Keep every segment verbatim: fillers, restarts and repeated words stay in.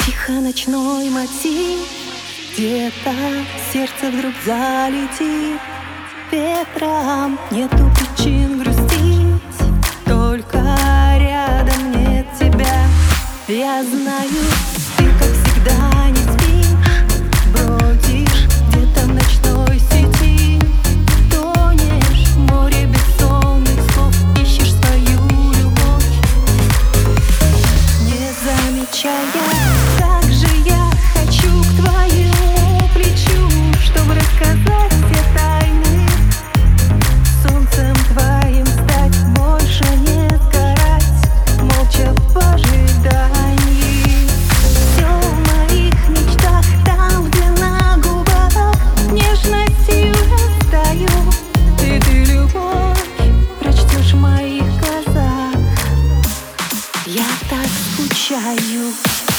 Тихо ночной мотив, где-то сердце вдруг залетит ветром. Нету причин грустить, только рядом нет тебя. Я знаю, ты, как всегда, не спишь, бродишь где-то в ночной сети, тонешь в море бессонных слов, ищешь свою любовь, не замечая. Как же я хочу к твоему плечу, чтобы рассказать все тайны, солнцем твоим стать, больше не сгорать, молча в ожидании. Все в моих мечтах, там, где на губах нежностью растаю. Ты, ты, любовь, прочтешь в моих глазах. Я так скучаю.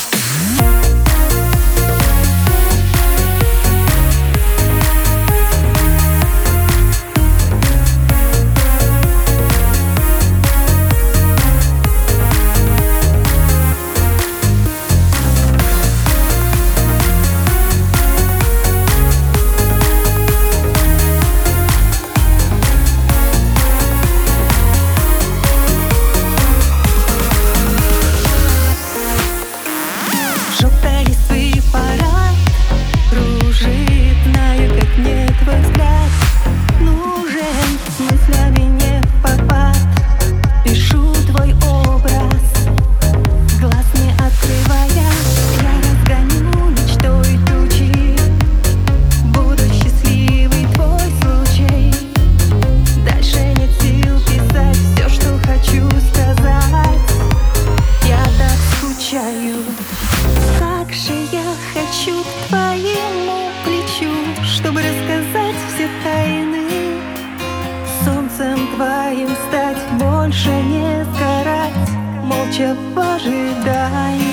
Желтой листвы парад кружит, зная, как мне твой взгляд нужен, с мыслями не в попад. Пишу твой образ, глаз не открывая, я разгоню мечтой тучи. Буду счастливый твой случай, дальше нет сил писать все, что хочу сказать. Я так скучаю. Как же я хочу к твоему плечу, чтобы рассказать все тайны, солнцем твоим стать, больше не сгорать, молча в ожидании.